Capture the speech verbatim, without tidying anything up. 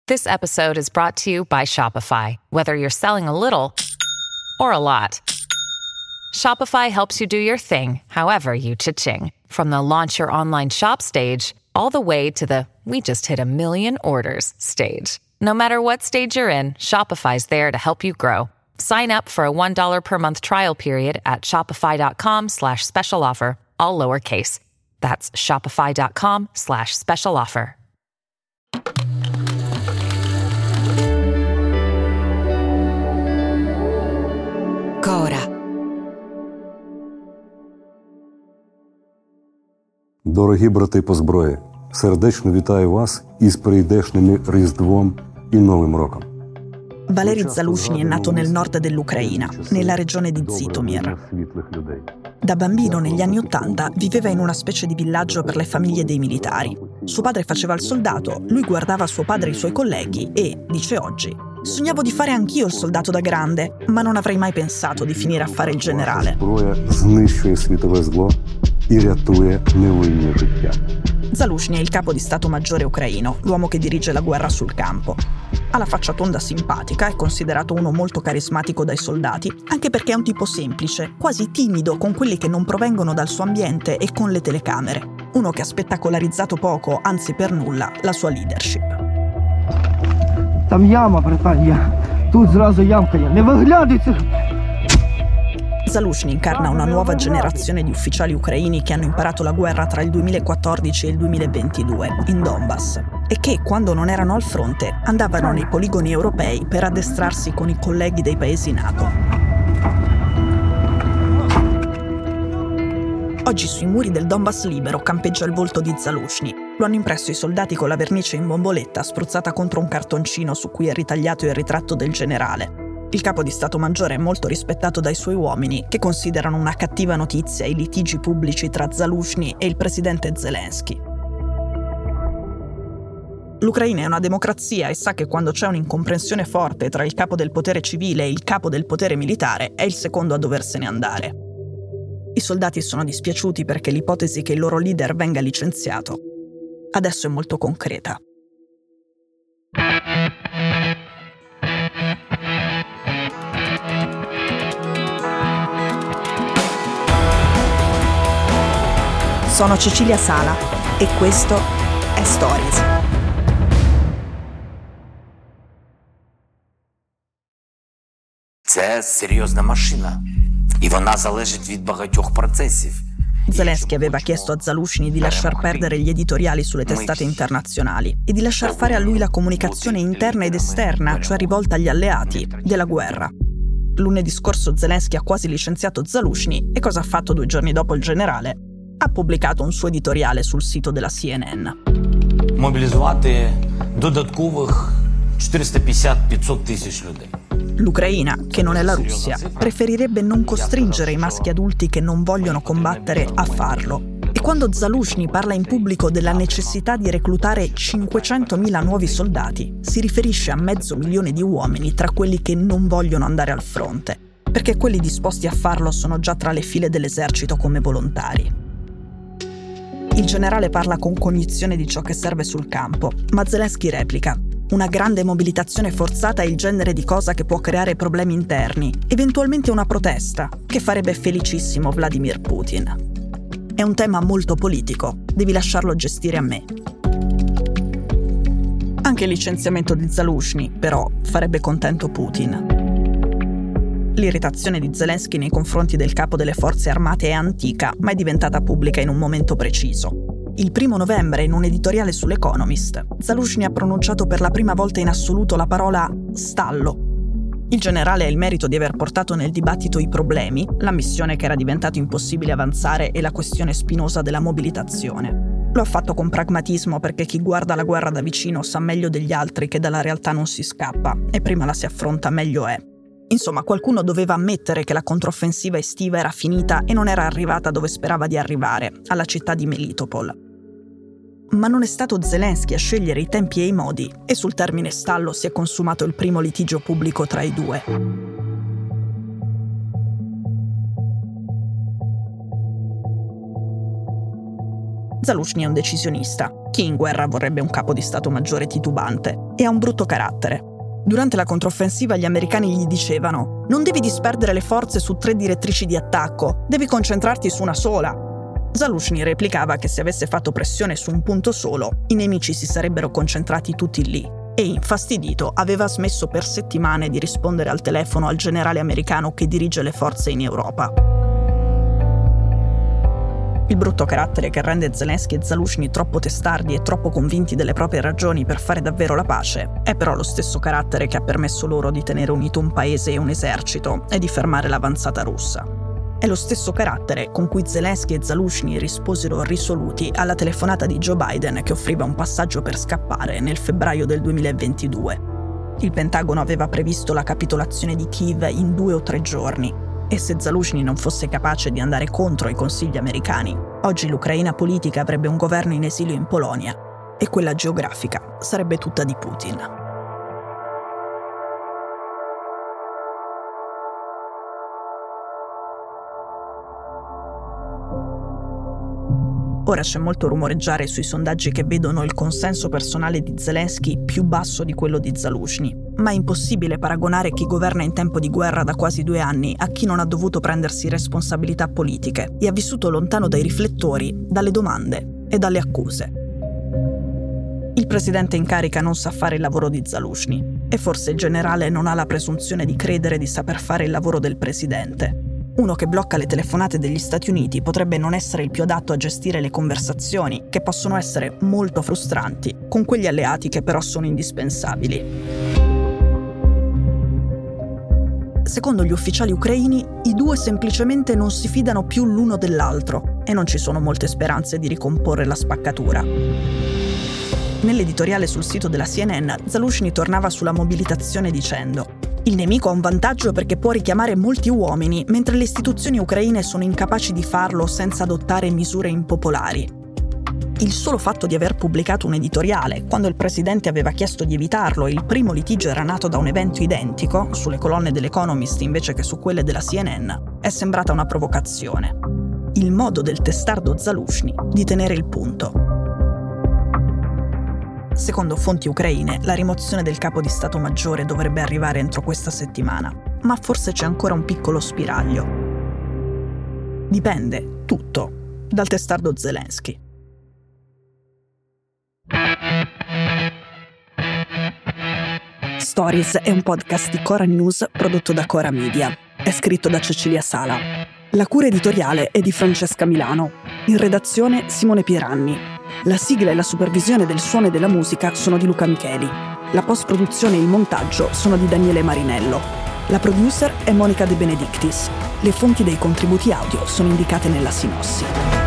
This episode is brought to you by Shopify. Whether you're selling a little or a lot, Shopify helps you do your thing, however you cha-ching. From the launch your online shop stage, all the way to the we just hit a million orders stage. No matter what stage you're in, Shopify's there to help you grow. Sign up for a one dollar per month trial period at shopify.com slash special offer, all lowercase. That's shopify.com slash special offer. Cora. Дорогі брати по зброї, сердечно вітаю вас із прийдешними Різдвом і Новим роком. Valery Zaluzhny è nato nel nord dell'Ucraina, nella regione di Zhytomyr. Da bambino, negli anni Ottanta, viveva in una specie di villaggio per le famiglie dei militari. Suo padre faceva il soldato, lui guardava suo padre e i suoi colleghi e, dice oggi, sognavo di fare anch'io il soldato da grande, ma non avrei mai pensato di finire a fare il generale. Зброя знищує світове зло і рятує невинні життя. Zaluzhny è il capo di Stato Maggiore ucraino, l'uomo che dirige la guerra sul campo. Ha la faccia tonda simpatica, è considerato uno molto carismatico dai soldati, anche perché è un tipo semplice, quasi timido con quelli che non provengono dal suo ambiente e con le telecamere. Uno che ha spettacolarizzato poco, anzi per nulla, la sua leadership. Там яма, братан, я. Тут зразу ямка є. Не виглядайте! Zaluzhny incarna una nuova generazione di ufficiali ucraini che hanno imparato la guerra tra il duemilaquattordici e il duemilaventidue, in Donbass, e che, quando non erano al fronte, andavano nei poligoni europei per addestrarsi con i colleghi dei paesi NATO. Oggi sui muri del Donbass libero campeggia il volto di Zaluzhny. Lo hanno impresso i soldati con la vernice in bomboletta spruzzata contro un cartoncino su cui è ritagliato il ritratto del generale. Il capo di Stato Maggiore è molto rispettato dai suoi uomini, che considerano una cattiva notizia i litigi pubblici tra Zaluzhny e il presidente Zelensky. L'Ucraina è una democrazia e sa che quando c'è un'incomprensione forte tra il capo del potere civile e il capo del potere militare, è il secondo a doversene andare. I soldati sono dispiaciuti perché l'ipotesi che il loro leader venga licenziato adesso è molto concreta. Sono Cecilia Sala e questo è Stories. Це серйозна машина, і вона залежить від багатьох процесів. Zelensky aveva chiesto a Zaluzhny di lasciar perdere gli editoriali sulle testate internazionali e di lasciar fare a lui la comunicazione interna ed esterna, cioè rivolta agli alleati, della guerra. Lunedì scorso Zelensky ha quasi licenziato Zaluzhny e cosa ha fatto due giorni dopo il generale? Ha pubblicato un suo editoriale sul sito della C N N. Мобілізувати додаткових чотириста п'ятдесят - п'ятсот тисяч людей. L'Ucraina, che non è la Russia, preferirebbe non costringere i maschi adulti che non vogliono combattere a farlo. E quando Zaluzhny parla in pubblico della necessità di reclutare cinquecentomila nuovi soldati, si riferisce a mezzo milione di uomini tra quelli che non vogliono andare al fronte, perché quelli disposti a farlo sono già tra le file dell'esercito come volontari. Il generale parla con cognizione di ciò che serve sul campo, ma Zelensky replica: una grande mobilitazione forzata è il genere di cosa che può creare problemi interni, eventualmente una protesta, che farebbe felicissimo Vladimir Putin. È un tema molto politico, devi lasciarlo gestire a me. Anche il licenziamento di Zaluzhny, però, farebbe contento Putin. L'irritazione di Zelensky nei confronti del capo delle forze armate è antica, ma è diventata pubblica in un momento preciso. Il primo novembre, in un editoriale sull'Economist, Zaluzhny ha pronunciato per la prima volta in assoluto la parola «stallo». Il generale ha il merito di aver portato nel dibattito i problemi, l'ammissione che era diventato impossibile avanzare e la questione spinosa della mobilitazione. Lo ha fatto con pragmatismo perché chi guarda la guerra da vicino sa meglio degli altri che dalla realtà non si scappa e prima la si affronta meglio è. Insomma, qualcuno doveva ammettere che la controffensiva estiva era finita e non era arrivata dove sperava di arrivare, alla città di Melitopol. Ma non è stato Zelensky a scegliere i tempi e i modi, e sul termine stallo si è consumato il primo litigio pubblico tra i due. Zaluzhny è un decisionista. Chi in guerra vorrebbe un capo di Stato Maggiore titubante? E ha un brutto carattere. Durante la controffensiva gli americani gli dicevano: non devi disperdere le forze su tre direttrici di attacco, devi concentrarti su una sola. Zaluzhny replicava che se avesse fatto pressione su un punto solo, i nemici si sarebbero concentrati tutti lì. E infastidito aveva smesso per settimane di rispondere al telefono al generale americano che dirige le forze in Europa. Il brutto carattere che rende Zelensky e Zaluzhny troppo testardi e troppo convinti delle proprie ragioni per fare davvero la pace è però lo stesso carattere che ha permesso loro di tenere unito un paese e un esercito e di fermare l'avanzata russa. È lo stesso carattere con cui Zelensky e Zaluzhny risposero risoluti alla telefonata di Joe Biden che offriva un passaggio per scappare nel febbraio del duemilaventidue. Il Pentagono aveva previsto la capitolazione di Kiev in due o tre giorni. E se Zaluzhny non fosse capace di andare contro i consigli americani, oggi l'Ucraina politica avrebbe un governo in esilio in Polonia e quella geografica sarebbe tutta di Putin. Ora c'è molto rumoreggiare sui sondaggi che vedono il consenso personale di Zelensky più basso di quello di Zaluzhny, ma è impossibile paragonare chi governa in tempo di guerra da quasi due anni a chi non ha dovuto prendersi responsabilità politiche e ha vissuto lontano dai riflettori, dalle domande e dalle accuse. Il presidente in carica non sa fare il lavoro di Zaluzhny e forse il generale non ha la presunzione di credere di saper fare il lavoro del presidente. Uno che blocca le telefonate degli Stati Uniti potrebbe non essere il più adatto a gestire le conversazioni, che possono essere molto frustranti, con quegli alleati che però sono indispensabili. Secondo gli ufficiali ucraini, i due semplicemente non si fidano più l'uno dell'altro e non ci sono molte speranze di ricomporre la spaccatura. Nell'editoriale sul sito della C N N, Zaluzhny tornava sulla mobilitazione dicendo: il nemico ha un vantaggio perché può richiamare molti uomini, mentre le istituzioni ucraine sono incapaci di farlo senza adottare misure impopolari. Il solo fatto di aver pubblicato un editoriale, quando il presidente aveva chiesto di evitarlo e il primo litigio era nato da un evento identico, sulle colonne dell'Economist invece che su quelle della C N N, è sembrata una provocazione. Il modo del testardo Zaluzhny di tenere il punto. Secondo fonti ucraine, la rimozione del capo di Stato Maggiore dovrebbe arrivare entro questa settimana, ma forse c'è ancora un piccolo spiraglio. Dipende, tutto, dal testardo Zelensky. Stories è un podcast di Cora News prodotto da Cora Media. È scritto da Cecilia Sala. La cura editoriale è di Francesca Milano. In redazione Simone Pieranni. La sigla e la supervisione del suono e della musica sono di Luca Micheli. La post-produzione e il montaggio sono di Daniele Marinello. La producer è Monica De Benedictis. Le fonti dei contributi audio sono indicate nella sinossi.